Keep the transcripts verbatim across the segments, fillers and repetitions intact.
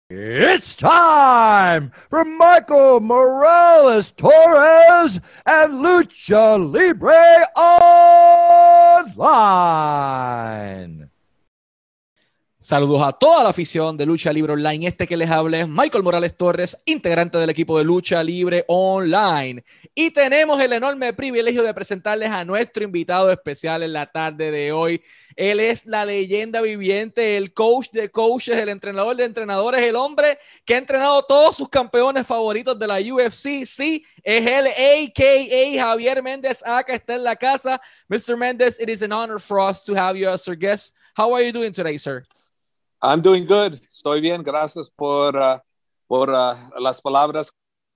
It's time for Michael Morales Torres and Lucha Libre Online. Saludos a toda la afición de Lucha Libre Online. Este que les habla es Michael Morales Torres, integrante del equipo de Lucha Libre Online. Y tenemos el enorme privilegio de presentarles a nuestro invitado especial en la tarde de hoy. Él es la leyenda viviente, el coach de coaches, el entrenador de entrenadores, el hombre que ha entrenado todos sus campeones favoritos de la U F C. Sí, es él, a k a. Javier Méndez. Acá está en la casa. mister Méndez, it is an honor for us to have you as our guest. How are you doing today, sir? I'm doing good. Estoy bien. Gracias por, uh, por uh, las palabras.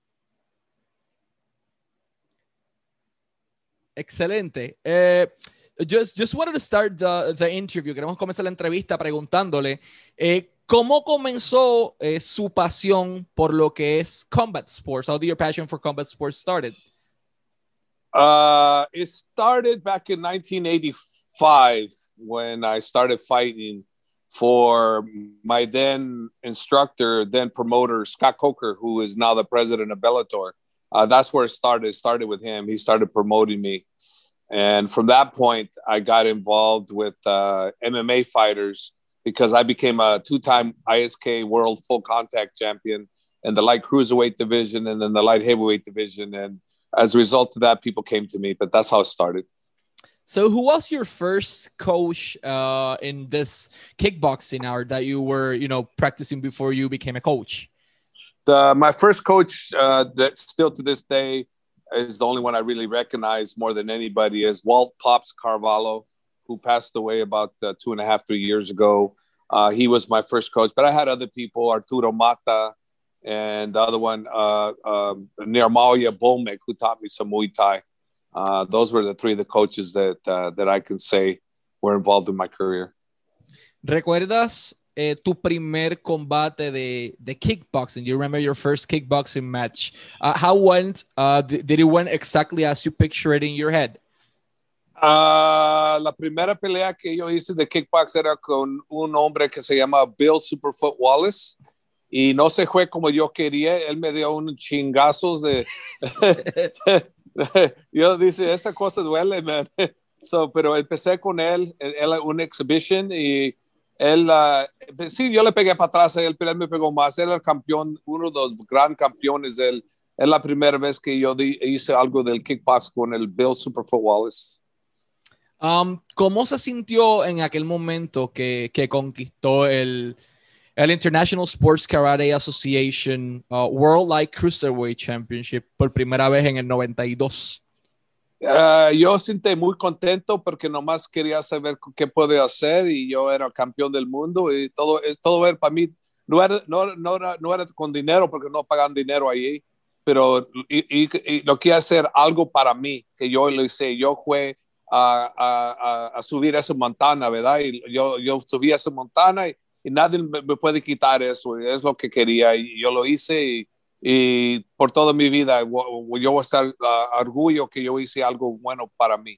Excelente. Uh, just, just wanted to start the, the interview. Queremos comenzar la entrevista preguntándole eh, cómo comenzó eh, su pasión por lo que es combat sports. How did your passion for combat sports started? Uh, it started back in nineteen eighty-five when I started fighting for my then instructor, then promoter, Scott Coker, who is now the president of Bellator. Uh, that's where it started. It started with him. He started promoting me. And from that point, I got involved with uh, M M A fighters because I became a two-time I S K World Full Contact Champion in the light cruiserweight division and then the light heavyweight division. And as a result of that, people came to me, but that's how it started. So who was your first coach uh, in this kickboxing hour that you were, you know, practicing before you became a coach? The, my first coach uh, that still to this day is the only one I really recognize more than anybody is Walt Pops Carvalho, who passed away about uh, two and a half, three years ago. Uh, he was my first coach, but I had other people, Arturo Mata, and the other one, uh, um, Nirmalia Bolmek, who taught me some Muay Thai. Uh, those were the three of the coaches that uh, that I can say were involved in my career. ¿Recuerdas eh, tu primer combate de, de kickboxing? You remember your first kickboxing match? Uh, how went? Uh, did, did it went exactly as you picture it in your head? Uh, la primera pelea que yo hice de kickbox era con un hombre que se llama Bill Superfoot Wallace. Y no se fue como yo quería. Él me dio unos chingazos de... Yo dice, esa cosa duele, man. So, pero empecé con él, él una exhibition y él, uh, sí, yo le pegué para atrás a él, pero él me pegó más. Él era el campeón, uno de los gran campeones. Él, es la primera vez que yo di, hice algo del kickbox con el Bill Superfoot Wallace. Um, ¿Cómo se sintió en aquel momento que, que conquistó el... el International Sports Karate Association uh, World Light Cruiserweight Championship por primera vez en el noventa y dos? Uh, yo sentí muy contento porque nomás quería saber qué podía hacer y yo era campeón del mundo y todo, todo era para mí, no era, no, no, era, no era con dinero porque no pagan dinero ahí, pero y, y, y lo quería hacer algo para mí, que yo lo hice, yo fui a, a, a subir esa montaña, ¿verdad? Y yo, yo subí a esa montaña y y nadie me puede quitar eso, es lo que quería y yo lo hice y, y por toda mi vida yo voy a estar uh, orgullo que yo hice algo bueno para mí.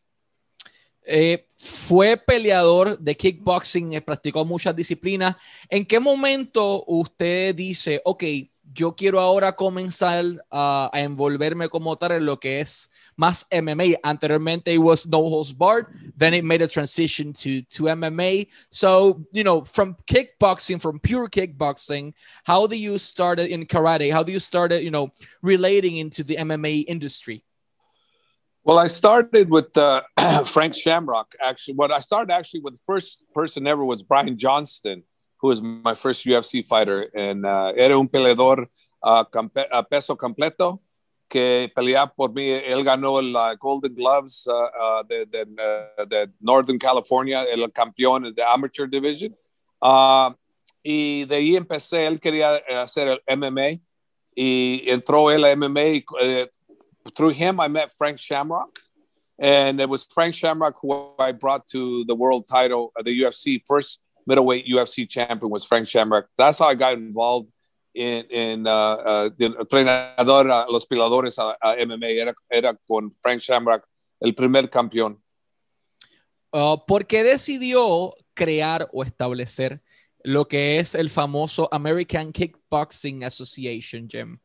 Eh, fue peleador de kickboxing, eh, practicó muchas disciplinas. ¿En qué momento usted dice, ok, yo quiero ahora comenzar uh, a envolverme como tal en lo que es más M M A? Anteriormente it was no holds barred, then it made a transition to, to M M A. So, you know, from kickboxing, from pure kickboxing, how do you start in karate? How do you start, you know, relating into the M M A industry? Well, I started with uh, Frank Shamrock, actually. What I started actually with the first person ever was Brian Johnston, who was my first U F C fighter. And uh, era un peleador uh, campe- uh, peso completo que peleaba por mí. Él ganó el uh, Golden Gloves uh, uh, de, de, uh, de Northern California, el campeón de Amateur Division. Uh, y de ahí empecé, él quería hacer el M M A y entró él a M M A y uh, through him, I met Frank Shamrock, and it was Frank Shamrock who I brought to the world title, uh, the U F C. First middleweight U F C champion was Frank Shamrock. That's how I got involved in, in uh, uh, the entrenador, uh, los peleadores a, a M M A. Era, era con Frank Shamrock, el primer campeón. Uh, ¿Por qué decidió crear o establecer lo que es el famoso American Kickboxing Association, Jim?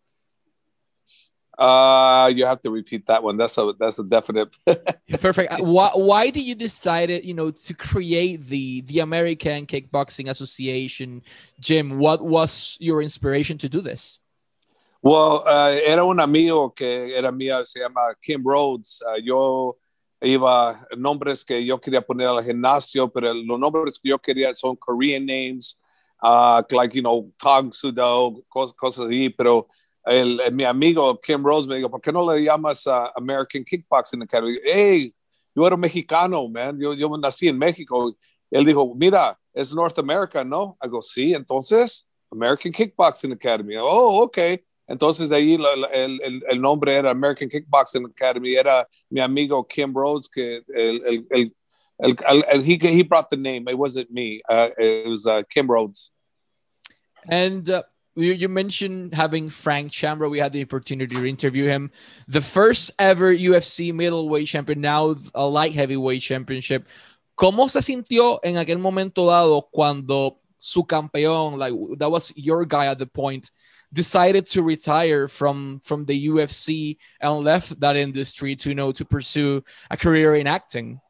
Uh, you have to repeat that one. That's a that's a definite. Perfect. Why why did you decide, you know, to create the the American Kickboxing Association, Jim? What was your inspiration to do this? Well, uh, era un amigo que era mía, se llama Kim Rhodes. Uh, yo iba nombres que yo quería poner al gimnasio, pero los nombres que yo quería son Korean names, uh, like, you know, Tang Sudo, cosas, cosas así, pero El, el, mi amigo Kim Rose me dijo, ¿por qué no le llamas uh, American Kickboxing Academy? Hey, yo era mexicano, man. Yo, yo nací en México. Él dijo, mira, es North America, ¿no? I go, sí, entonces, American Kickboxing Academy. Oh, ok. Entonces, de ahí la, la, el, el, el nombre era American Kickboxing Academy. Era mi amigo Kim Rhodes, que el, el, el, el, el, el he, he brought the name. It wasn't me. Uh, it was uh, Kim Rhodes. And uh, you, you mentioned having Frank Shamrock. We had the opportunity to interview him. The first ever U F C middleweight champion, now a light heavyweight championship. ¿Cómo se sintió en aquel momento dado cuando su campeón, like that was your guy at the point, decided to retire from from the U F C and left that industry to, you know, to pursue a career in acting?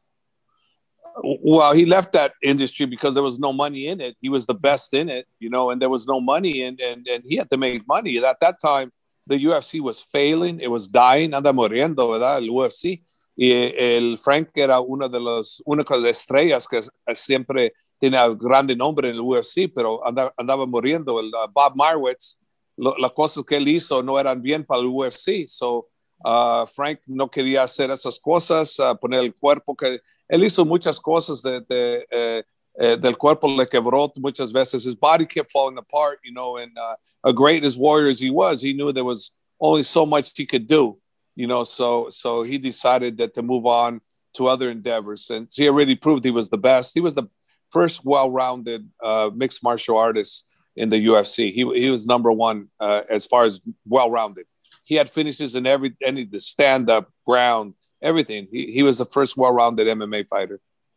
Well, he left that industry because there was no money in it. He was the best in it, you know, and there was no money, and and, and he had to make money. At that time, the U F C was failing. It was dying. Anda muriendo, ¿verdad? El U F C. Y el Frank era uno de los únicos estrellas que siempre tenía grande nombre en el U F C, pero andaba, andaba muriendo. El uh, Bob Marwitz, lo, las cosas que él hizo no eran bien para el U F C. So, uh, Frank no quería hacer esas cosas, uh, poner el cuerpo que... Él hizo muchas cosas de, de, eh, eh, del cuerpo le quebró muchas veces. His body kept falling apart, you know, and uh, a great as warrior as he was, he knew there was only so much he could do, you know, so so he decided that to move on to other endeavors. And he already proved he was the best. He was the first well-rounded uh, mixed martial artist in the U F C. He, he was number one uh, as far as well-rounded. He had finishes in every any the stand-up, ground, everything. He, he was the first well-rounded M M A fighter.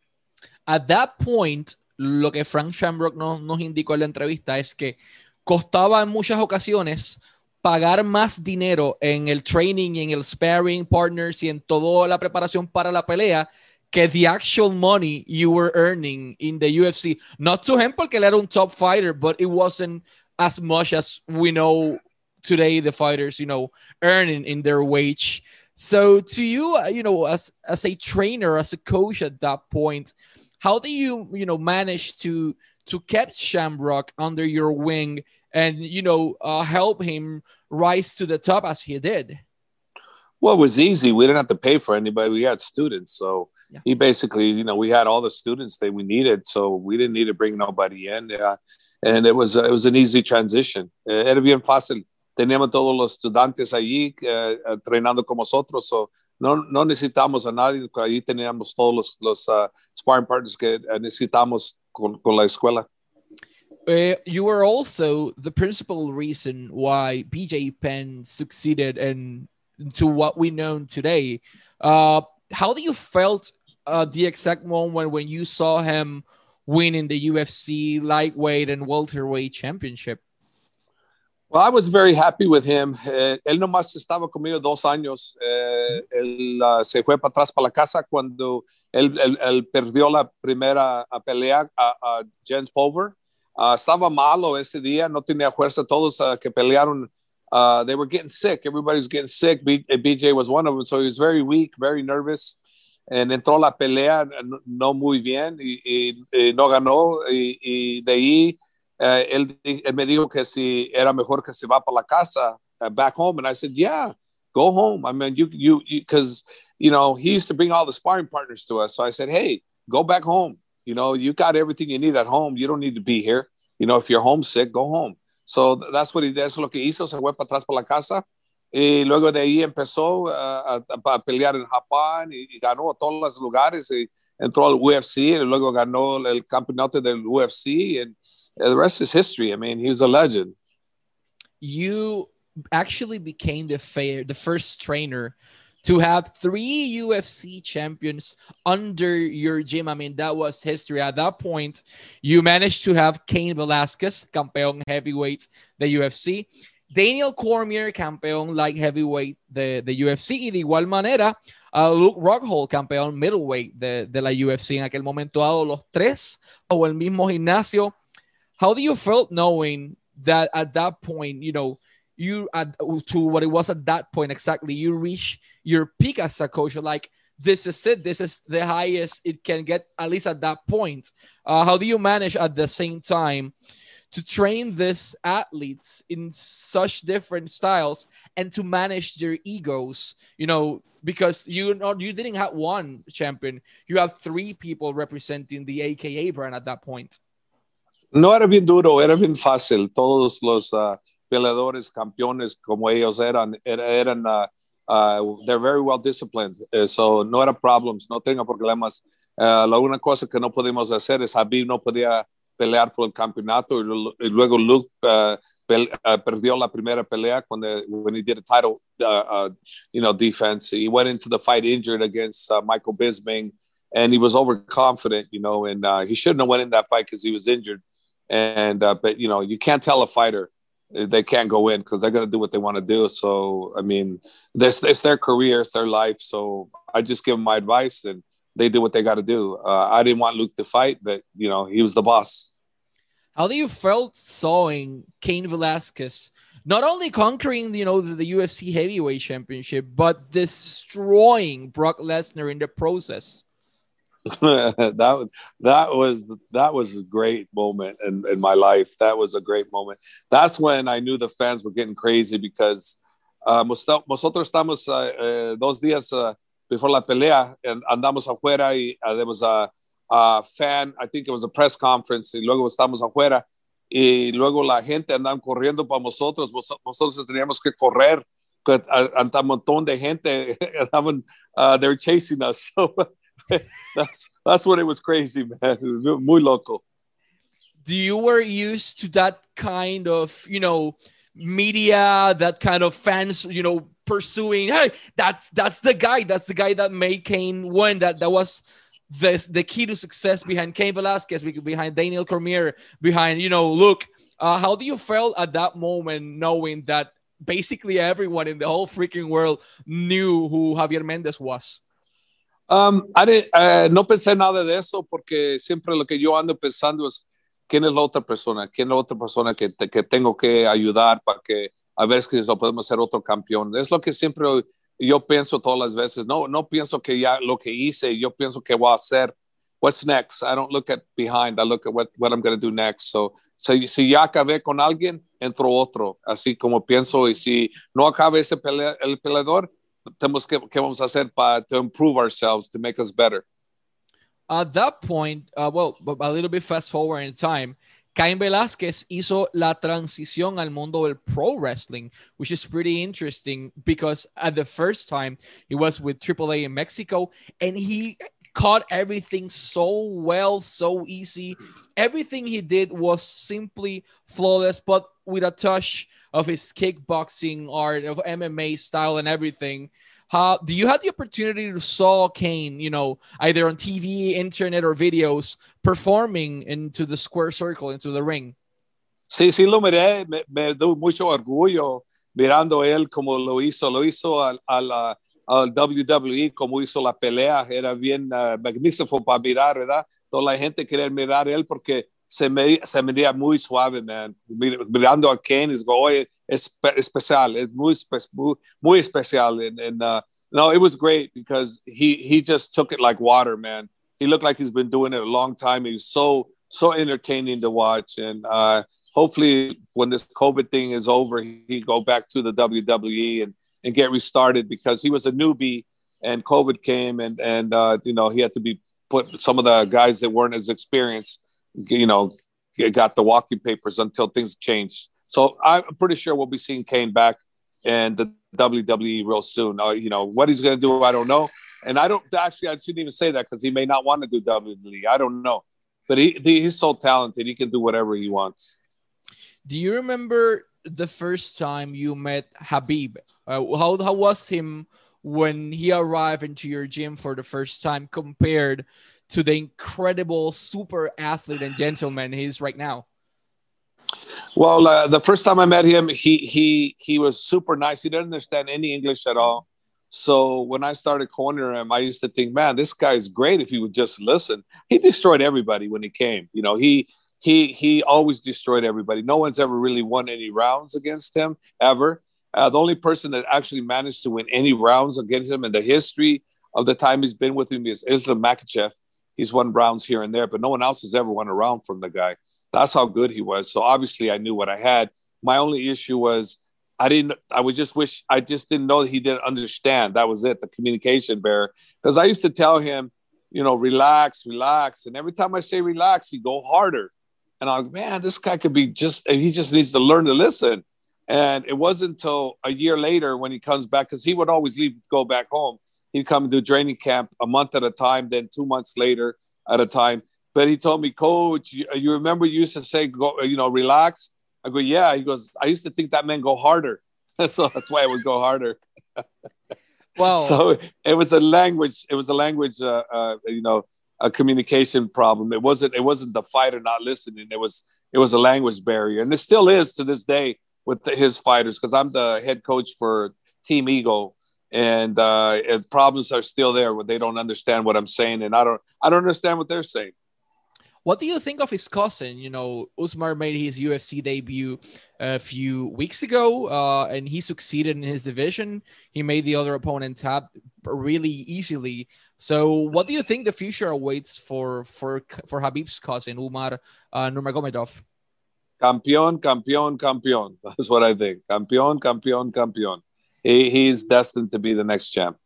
At that point, lo que Frank Shamrock nos, nos indicó en la entrevista es que costaba en muchas ocasiones pagar más dinero en el training, en el sparring partners y en toda la preparación para la pelea que the actual money you were earning in the U F C. Not to him porque él era un top fighter, but it wasn't as much as we know today the fighters, you know, earning in their wage. So to you, you know, as, as a trainer, as a coach at that point, how do you, you know, manage to, to keep Shamrock under your wing and, you know, uh, help him rise to the top as he did? Well, it was easy. We didn't have to pay for anybody. We had students. So yeah. He basically, you know, we had all the students that we needed. So we didn't need to bring nobody in. Yeah. And it was, uh, it was an easy transition. Uh, era bien fácil. Teníamos todos los estudiantes allí uh, entrenando con nosotros, so no, no necesitamos a nadie, allí teníamos todos los, los uh, sparring partners que necesitamos con, con la escuela. Uh, you were also the principal reason why B J Penn succeeded and to what we know today. Uh, how do you felt uh, the exact moment when you saw him winning the U F C lightweight and welterweight championship? Well, I was very happy with him. Eh, él nomás estaba conmigo dos años. Eh, él uh, se fue para atrás para la casa cuando él, él, él perdió la primera pelea a, a Jens Pulver. Uh, estaba malo ese día, no tenía fuerza. Todos uh, que pelearon, uh, they were getting sick. Everybody was getting sick. B, B J was one of them, so he was very weak, very nervous. And entró la pelea no, no muy bien y, y, y no ganó. Y, y de ahí Uh, él, él me dijo que si era mejor que se va para la casa, uh, back home. And I said, yeah, go home. I mean, you, you, because, you, you know, he used to bring all the sparring partners to us. So I said, hey, go back home. You know, you got everything you need at home. You don't need to be here. You know, if you're homesick, go home. So that's what he did. Eso es lo que hizo. Se fue para atrás para la casa. Y luego de ahí empezó uh, a, a pelear en Japón y, y ganó a todos los lugares. Y entró al U F C y luego ganó el campeonato del U F C. And the rest is history. I mean, he was a legend. You actually became the fair, the first trainer to have three U F C champions under your gym. I mean, that was history. At that point, you managed to have Cain Velasquez, campeón heavyweight de U F C, Daniel Cormier, campeón light heavyweight de, de U F C, y de igual manera, uh, Luke Rockhold, campeón middleweight de, de la U F C. En aquel momento dado, los tres o el mismo gimnasio. How do you feel knowing that at that point, you know, you at to what it was at that point exactly, you reach your peak as a coach? You're like, this is it. This is the highest it can get, at least at that point. Uh, how do you manage at the same time to train these athletes in such different styles and to manage their egos? You know, because you know you didn't have one champion, you have three people representing the A K A brand at that point. No era bien duro, era bien fácil. Todos los uh, peleadores, campeones como ellos eran, eran uh, uh, they're very well disciplined. Uh, so no era problems, no tenga problemas. Uh, la única cosa que no podemos hacer es Khabib no podía pelear por el campeonato y, y luego Luke uh, pel, uh, perdió la primera pelea cuando when he did a title uh, uh, you know, defense. He went into the fight injured against uh, Michael Bisping, and he was overconfident, you know, and uh, he shouldn't have went in that fight because he was injured. And uh, but you know, you can't tell a fighter they can't go in because they're going to do what they want to do. So I mean, this it's their career, it's their life. So I just give them my advice, and they do what they got to do. Uh, I didn't want Luke to fight, but you know, he was the boss. How do you felt seeing Cain Velasquez not only conquering, you know, the, the U F C heavyweight championship, but destroying Brock Lesnar in the process? that was that was that was a great moment in, in my life. That was a great moment. That's when I knew the fans were getting crazy because uh, nosotros estamos uh, uh, dos días uh, before la pelea and andamos afuera y uh, there was a, a fan, I think it was a press conference, y luego estamos afuera y luego la gente andaban corriendo para nosotros. Nosotros teníamos que correr, que anda un montón de gente andaban, uh, they were chasing us. So that's that's when it was crazy, man. Muy loco. Do you were used to that kind of, you know, media, that kind of fans, you know, pursuing, hey, that's that's the guy, that's the guy that made Cain win, that that was the the key to success behind Cain Velasquez, behind Daniel Cormier, behind, you know, Luke. Uh, how do you feel at that moment knowing that basically everyone in the whole freaking world knew who Javier Mendez was? Um, I didn't, uh, no pensé nada de eso porque siempre lo que yo ando pensando es quién es la otra persona, quién es la otra persona que, te, que tengo que ayudar para que a ver si lo podemos hacer otro campeón. Es lo que siempre yo pienso todas las veces. No, no pienso que ya lo que hice, yo pienso que voy a hacer. What's next? I don't look at behind. I look at what, what I'm going to do next. So, so, si ya acabé con alguien, entro otro. Así como pienso. Y si no acabe ese pelea, el peleador, tenemos que, ¿qué vamos a hacer para to improve ourselves, to make us better? At that point, uh, well, a little bit fast forward in time, Cain Velasquez hizo la transición al mundo del pro wrestling, which is pretty interesting because at the first time he was with Triple A in Mexico, and he caught everything so well, so easy. Everything he did was simply flawless, but with a touch of his kickboxing art, of M M A style and everything. How do you have the opportunity to saw Cain, you know, either on T V, internet, or videos, performing into the square circle, into the ring? Sí, sí lo miré. Me, me dio mucho orgullo mirando él como lo hizo. Lo hizo al, al, al W W E, como hizo la pelea. Era bien uh, magnífico para mirar, ¿verdad? Toda la gente quería mirar a él porque se me, se me veía muy suave, man. Mirando a Cain, es go, oye, es especial, es muy, muy, muy especial. And, and uh, no, it was great because he, he just took it like water, man. He looked like he's been doing it a long time. He was so, so entertaining to watch. And uh, hopefully when this COVID thing is over, he go back to the W W E and, and get restarted because he was a newbie and COVID came and, and uh, you know, he had to be put, some of the guys that weren't as experienced, you know, got the walking papers until things changed. So I'm pretty sure we'll be seeing Cain back in the W W E real soon. Uh, you know, what he's going to do, I don't know. And I don't, actually, I shouldn't even say that because he may not want to do W W E. I don't know. But he, he's so talented. He can do whatever he wants. Do you remember the first time you met Khabib? Uh, how, how was him when he arrived into your gym for the first time compared to the incredible super athlete and gentleman he is right now? Well, uh, the first time I met him, he he he was super nice. He didn't understand any English at all. So when I started cornering him, I used to think, man, this guy is great if he would just listen. He destroyed everybody when he came. You know, he he he always destroyed everybody. No one's ever really won any rounds against him, ever. Uh, the only person that actually managed to win any rounds against him in the history of the time he's been with him is Islam Makhachev. He's won rounds here and there, but no one else has ever won a round from the guy. That's how good he was. So obviously I knew what I had. My only issue was I didn't, I would just wish, I just didn't know that he didn't understand. That was it, the communication barrier. Because I used to tell him, you know, relax, relax. And every time I say relax, he'd go harder. And I'm like, man, this guy could be just, he just needs to learn to listen. And it wasn't until a year later when he comes back, because he would always leave to go back home. He'd come to training camp a month at a time, then two months later at a time. But he told me, Coach, you, you remember you used to say, go, you know, relax? I go, yeah. He goes, I used to think that meant go harder. So that's why I would go harder. Wow. So it was a language, it was a language, uh, uh, you know, a communication problem. It wasn't, it wasn't the fighter not listening. It was, it was a language barrier. And it still is to this day with the, his fighters, because I'm the head coach for Team Eagle. And, uh, and problems are still there where they don't understand what I'm saying. And I don't, I don't understand what they're saying. What do you think of his cousin? You know, Usman made his U F C debut a few weeks ago, uh, and he succeeded in his division. He made the other opponent tap really easily. So what do you think the future awaits for for, for Khabib's cousin, Umar uh, Nurmagomedov? Campeón, campeón, campeón. That's what I think. Campeón, campeón, campeón. He, he's destined to be the next champ.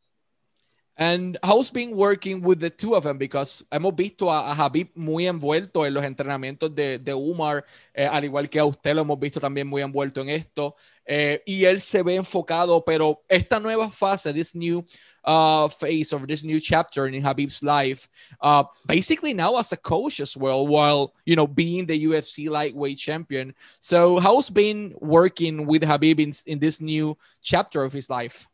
And how's been working with the two of them? Because hemos visto a, a Khabib muy envuelto en los entrenamientos de, de Umar, eh, al igual que a usted lo hemos visto también muy envuelto en esto. Eh, y él se ve enfocado, pero esta nueva fase, this new uh, phase of this new chapter in Khabib's life, uh, basically now as a coach as well, while, you know, being the U F C lightweight champion. So how's been working with Khabib in, in this new chapter of his life?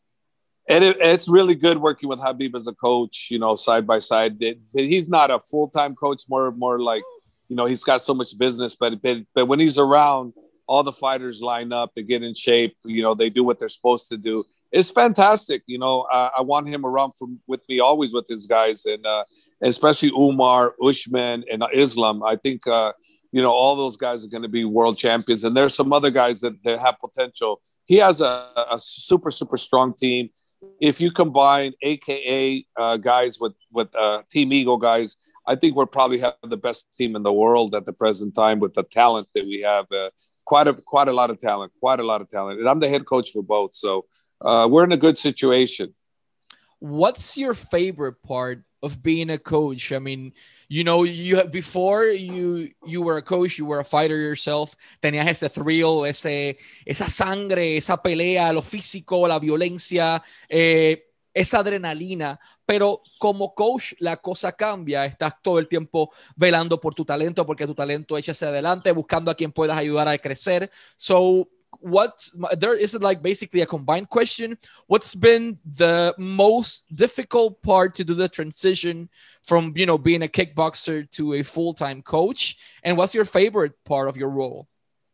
And it, it's really good working with Khabib as a coach, you know, side by side. It, he's not a full-time coach, more more like, you know, he's got so much business. But, but but when he's around, all the fighters line up, they get in shape, you know, they do what they're supposed to do. It's fantastic. You know, uh, I want him around from, with me always with his guys, and uh, especially Umar, Usman, and Islam. I think, uh, you know, all those guys are going to be world champions. And there's some other guys that, that have potential. He has a, a super, super strong team. If you combine A K A uh, guys with with uh, Team Eagle guys, I think we're probably have the best team in the world at the present time with the talent that we have. Uh, quite a quite a lot of talent, quite a lot of talent. And I'm the head coach for both, so uh, we're in a good situation. What's your favorite part of being a coach? I mean, you know, you have, before you you were a coach, you were a fighter yourself. Tenías ese thrill, ese, esa sangre, esa pelea, lo físico, la violencia, eh, esa adrenalina. Pero como coach, la cosa cambia. Estás todo el tiempo velando por tu talento, porque tu talento echa hacia adelante, buscando a quien puedas ayudar a crecer. So, what there is it like basically a combined question. What's been the most difficult part to do the transition from, you know, being a kickboxer to a full-time coach? And what's your favorite part of your role?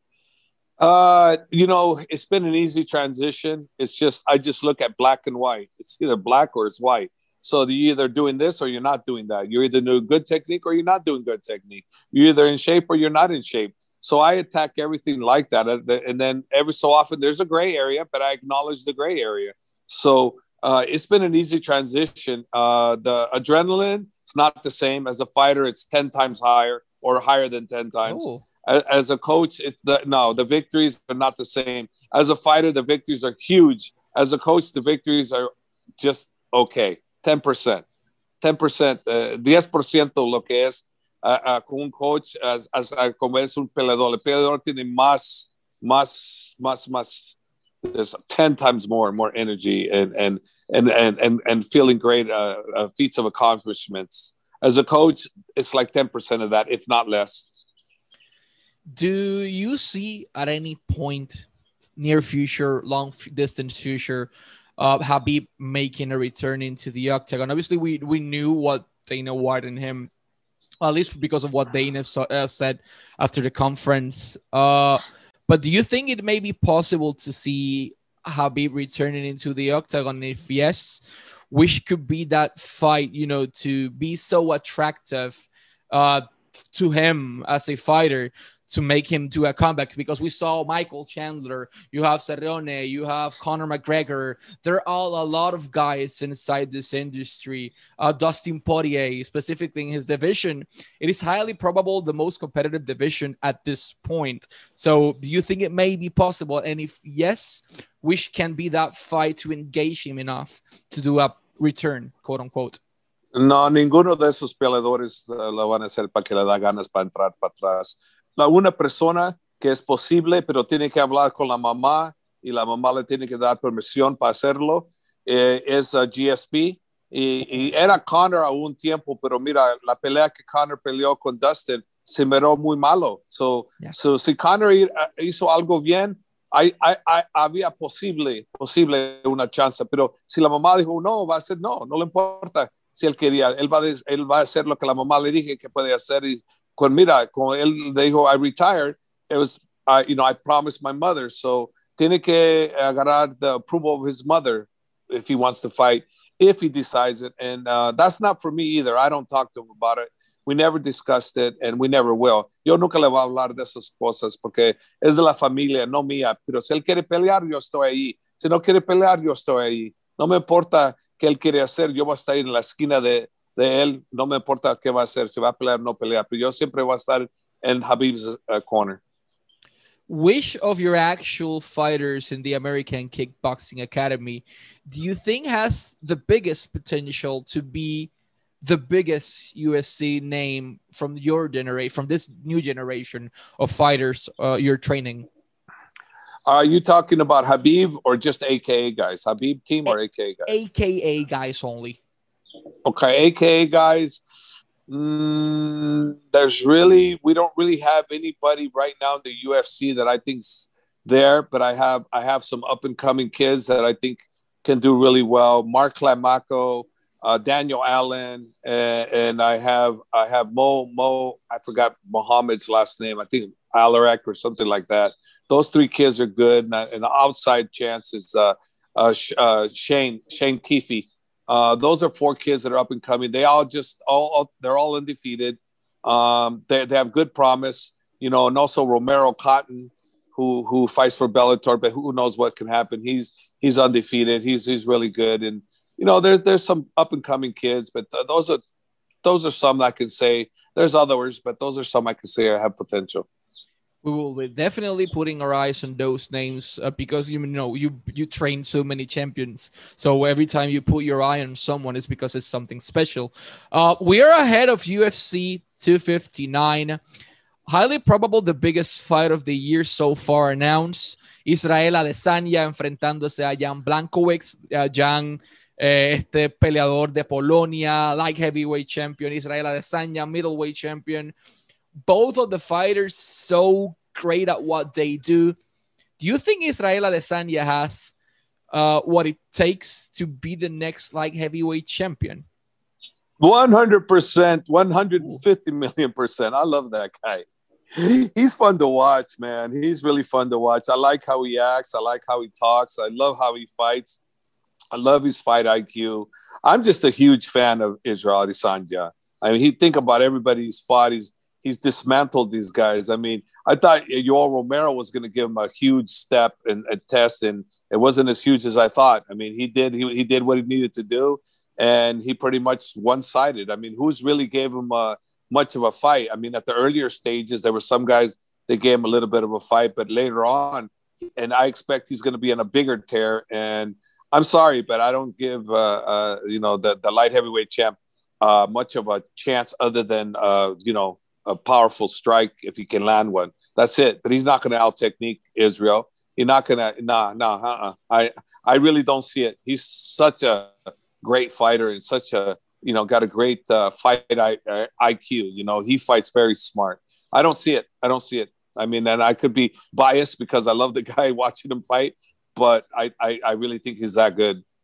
Uh, you know, it's been an easy transition. It's just, I just look at black and white. It's either black or it's white. So you're either doing this or you're not doing that. You're either doing good technique or you're not doing good technique. You're either in shape or you're not in shape. So I attack everything like that. And then every so often there's a gray area, but I acknowledge the gray area. So uh, it's been an easy transition. Uh, the adrenaline, it's not the same. As a fighter, it's ten times higher or higher than ten times. Oh. As a coach, it's the, no, the victories are not the same. As a fighter, the victories are huge. As a coach, the victories are just okay. ten percent. ten percent. Uh, ten por ciento lo que es. Uh, uh, con un coach as, as, uh, como es un peleador. El peleador tiene más, más, más, más. There's ten times more, more energy and and and and and, and feeling great uh, uh, feats of accomplishments. As a coach, it's like ten percent of that, if not less. Do you see at any point, near future, long distance future, uh, Khabib making a return into the octagon. Obviously, we we knew what Dana White and him, at least because of what Dana so, uh, said after the conference. Uh, but do you think it may be possible to see Khabib returning into the octagon? If yes, which could be that fight, you know, to be so attractive uh, to him as a fighter, to make him do a comeback? Because we saw Michael Chandler, you have Cerrone, you have Conor McGregor. There are all a lot of guys inside this industry. Uh, Dustin Poirier, specifically in his division, it is highly probable the most competitive division at this point. So do you think it may be possible? And if yes, which can be that fight to engage him enough to do a return, quote unquote? No, ninguno de esos peleadores uh, lo van a hacer para que le da ganas para entrar para atrás. La una persona que es posible, pero tiene que hablar con la mamá y la mamá le tiene que dar permisión para hacerlo, eh, es uh, G S P. Y, y era Conor a un tiempo, pero mira, la pelea que Conor peleó con Dustin se miró muy malo. So, yeah. so si Conor hizo algo bien, hay, hay, hay, había posible, posible una chance. Pero si la mamá dijo no, va a ser no, no le importa si él quería. Él va, a, él va a hacer lo que la mamá le dije que puede hacer. Y Con, mira, con él dijo, I retired, it was, uh, you know, I promised my mother. So, tiene que agarrar the approval of his mother if he wants to fight, if he decides it. And uh, that's not for me either. I don't talk to him about it. We never discussed it, and we never will. Yo nunca le voy a hablar de esas cosas porque es de la familia, no mía. Pero si él quiere pelear, yo estoy ahí. Si no quiere pelear, yo estoy ahí. No me importa qué él quiere hacer. Yo voy a estar en la esquina de de él, no me importa qué va a hacer, si va a pelear o no pelear, pero yo siempre voy a estar en Khabib's uh, corner. Which of your actual fighters in the American Kickboxing Academy do you think has the biggest potential to be the biggest U F C name from your generation, from this new generation of fighters uh, you're training? Are you talking about Khabib or just A K A guys? Khabib team or A K A guys? A K A guys only. Okay, A K A guys, mm, there's really, we don't really have anybody right now in the U F C that I think's there, but I have I have some up-and-coming kids that I think can do really well. Mark Clamaco, uh, Daniel Allen, and, and I have I have Mo, Mo, I forgot Muhammad's last name, I think Alarak or something like that. Those three kids are good, and, and the outside chance is uh, uh, uh, Shane, Shane Keefe. Uh, those are four kids that are up and coming. They all just all they're all undefeated. Um, they they have good promise, you know, and also Romero Cotton, who who fights for Bellator, but who knows what can happen. He's he's undefeated. He's he's really good, and you know, there's there's some up and coming kids, but th- those are those are some I can say. There's others, but those are some I can say have potential. We will be definitely putting our eyes on those names uh, because you know you you train so many champions. So every time you put your eye on someone, it's because it's something special. Uh, we are ahead of U F C two fifty-nine. Highly probable the biggest fight of the year so far announced. Israel Adesanya enfrentándose a Jan Blachowicz. Uh, Jan, eh, este peleador de Polonia, light heavyweight champion. Israel Adesanya, middleweight champion. Both of the fighters so great at what they do. Do you think Israel Adesanya has uh, what it takes to be the next light heavyweight champion? one hundred percent, one hundred fifty million percent. I love that guy. He's fun to watch, man. He's really fun to watch. I like how he acts. I like how he talks. I love how he fights. I love his fight I Q. I'm just a huge fan of Israel Adesanya. I mean, he think about everybody he's fought. He's He's dismantled these guys. I mean, I thought Yoel Romero was going to give him a huge step and a test, and it wasn't as huge as I thought. I mean, he did he, he did what he needed to do, and he pretty much one-sided. I mean, who's really gave him uh, much of a fight? I mean, at the earlier stages, there were some guys that gave him a little bit of a fight, but later on, and I expect he's going to be in a bigger tear. And I'm sorry, but I don't give uh, uh, you know the the light heavyweight champ uh, much of a chance other than uh, you know. a powerful strike if he can land one. That's it. But he's not going to out-technique Israel. He's not going to, nah, nah, uh-uh. I, I really don't see it. He's such a great fighter and such a, you know, got a great uh, fight I, uh, I Q. You know, he fights very smart. I don't see it. I don't see it. I mean, and I could be biased because I love the guy watching him fight, but I, I, I really think he's that good.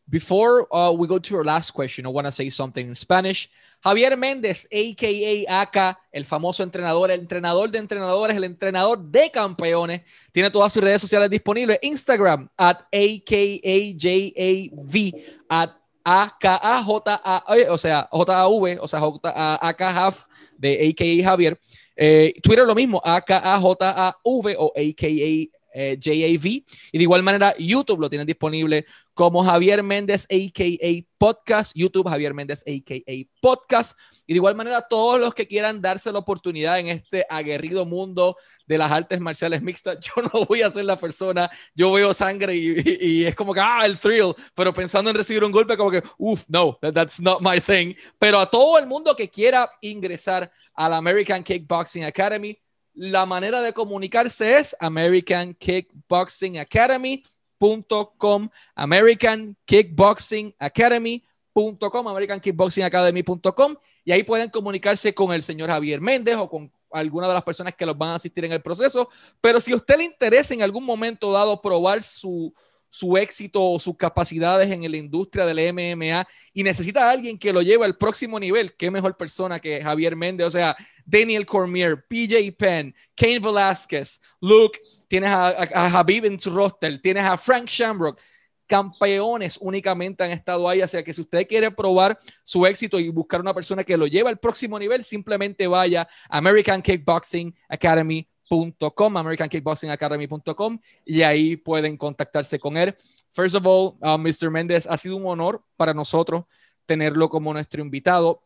before uh, we go to our last question, I want to say something in Spanish. Javier Méndez, a k a. Aka, el famoso entrenador, el entrenador de entrenadores, el entrenador de campeones, tiene todas sus redes sociales disponibles. Instagram, at A K A J A V, at A K A J A, o sea, J A V, o sea, J A K Half, de A K A Javier. Eh, Twitter lo mismo, A K A J A V o A K A Eh, J A V, y de igual manera YouTube lo tienen disponible como Javier Méndez a k a. Podcast, YouTube Javier Méndez a k a. Podcast, y de igual manera todos los que quieran darse la oportunidad en este aguerrido mundo de las artes marciales mixtas. Yo no voy a ser la persona, yo veo sangre y, y, y es como que, ah, el thrill, pero pensando en recibir un golpe como que, uff, no, that, that's not my thing. Pero a todo el mundo que quiera ingresar a la American Kickboxing Academy, la manera de comunicarse es American Kickboxing Academy punto com, American Kickboxing Academy punto com, American Kickboxing Academy punto com, y ahí pueden comunicarse con el señor Javier Méndez o con alguna de las personas que los van a asistir en el proceso. Pero si a usted le interesa en algún momento dado probar su, su éxito o sus capacidades en la industria del M M A y necesita a alguien que lo lleve al próximo nivel, qué mejor persona que Javier Méndez. O sea, Daniel Cormier, P J Penn, Cain Velasquez, Luke, tienes a, a, a Habib en su roster, tienes a Frank Shamrock, campeones únicamente han estado ahí. O sea que si usted quiere probar su éxito y buscar una persona que lo lleve al próximo nivel, simplemente vaya a American Kickboxing Academy punto com, American Kickboxing Academy punto com, y ahí pueden contactarse con él. First of all, uh, mister Méndez, ha sido un honor para nosotros tenerlo como nuestro invitado.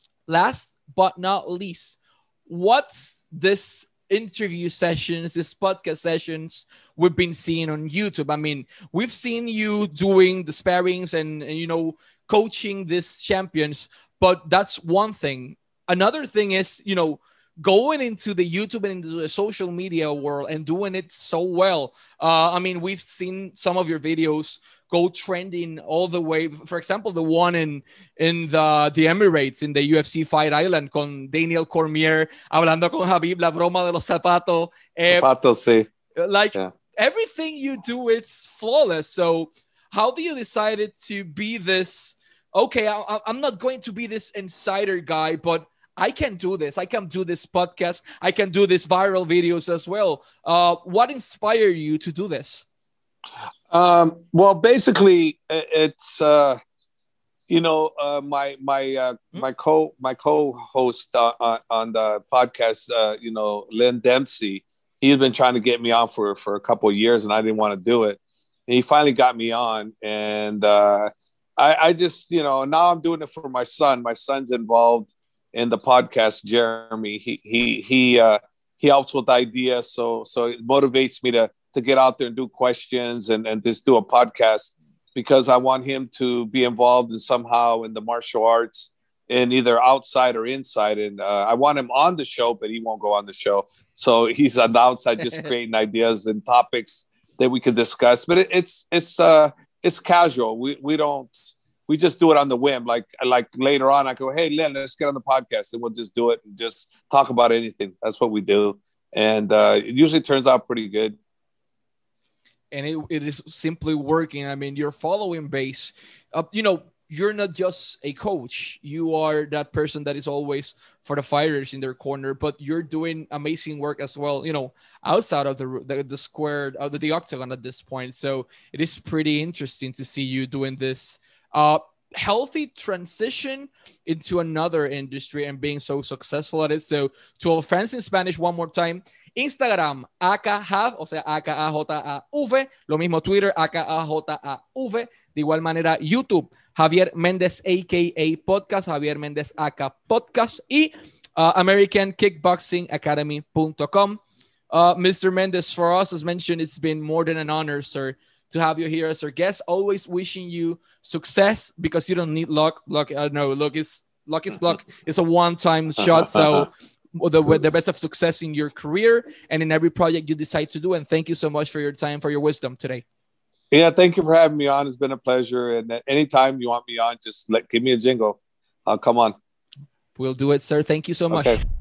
Last but not least, what's this interview sessions, this podcast sessions we've been seeing on YouTube? I mean, we've seen you doing the sparrings and, and you know, coaching these champions, but that's one thing. Another thing is, you know, going into the YouTube and into the social media world and doing it so well. Uh, I mean, we've seen some of your videos go trending all the way. For example, the one in in the, the Emirates, in the U F C Fight Island, con Daniel Cormier, hablando con Habib, la broma de los zapatos. Eh, Zapatos, sí. Like, yeah. Everything you do, it's flawless. So how do you decide to be this, okay, I, I'm not going to be this insider guy, but I can do this. I can do this podcast. I can do these viral videos as well. Uh, what inspired you to do this? Um, well, basically, it's uh, you know uh, my my uh, mm-hmm. my co my co-host uh, on, on the podcast. Uh, you know, Lynn Dempsey. He's been trying to get me on for for a couple of years, and I didn't want to do it. And he finally got me on, and uh, I, I just you know now I'm doing it for my son. My son's involved in the podcast, Jeremy. He he he uh, he helps with ideas, so so it motivates me to to get out there and do questions and and just do a podcast, because I want him to be involved in somehow in the martial arts, in either outside or inside. And uh, I want him on the show, but he won't go on the show. So he's on the outside, just creating ideas and topics that we can discuss. But it, it's it's uh it's casual. We we don't. We just do it on the whim. Like like later on, I go, hey, Len, let's get on the podcast, and we'll just do it and just talk about anything. That's what we do, and uh, it usually turns out pretty good. And it, it is simply working. I mean, your following base, uh, you know, you're not just a coach. You are that person that is always for the fighters in their corner, but you're doing amazing work as well, you know, outside of the the, the square, of the, the octagon at this point. So it is pretty interesting to see you doing this Uh, healthy transition into another industry and being so successful at it. So to all fans in Spanish, one more time, Instagram, A K A, o sea, A K A J A V, lo mismo Twitter, A K A J A V, de igual manera YouTube, Javier Méndez A K A Podcast, Javier Méndez A K Podcast, y uh, American Kickboxing Academy punto com. Uh, mister Méndez, for us, as mentioned, it's been more than an honor, sir, to have you here as our guest. Always wishing you success, because you don't need luck. Luck, I know, luck is luck is luck. It's a one-time shot. So the, the best of success in your career and in every project you decide to do. And thank you so much for your time, for your wisdom today. Yeah, thank you for having me on. It's been a pleasure. And anytime you want me on, just let give me a jingle. I'll come on. We'll do it, sir. Thank you so much. Okay.